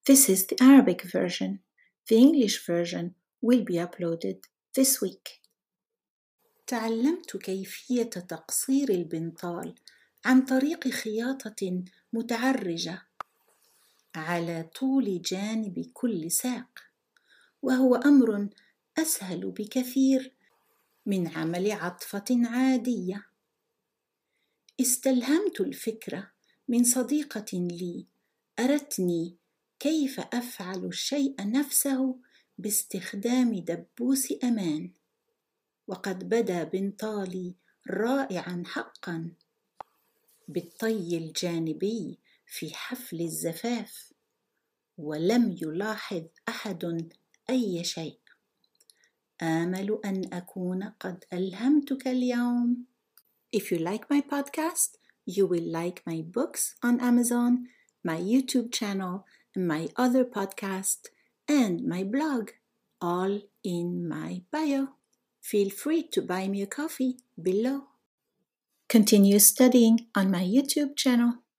This is the Arabic version. The English version will be uploaded this week. تعلمت كيفية تقصير البنطال عن طريق خياطة متعرجة على طول جانب كل ساق، وهو أمر أسهل بكثير من عمل عطفة عادية. استلهمت الفكرة من صديقة لي أرتني كيف أفعل الشيء نفسه باستخدام دبوس أمان، وقد بدا بنطالي رائعا حقا بالطي الجانبي في حفل الزفاف، ولم يلاحظ أحد أي شيء. آمل أن أكون قد ألهمتك اليوم. If you like my podcast, you will like my books on Amazon, my YouTube channel, my other podcast, and my blog, all in my bio. Feel free to buy me a coffee below. Continue studying on my YouTube channel.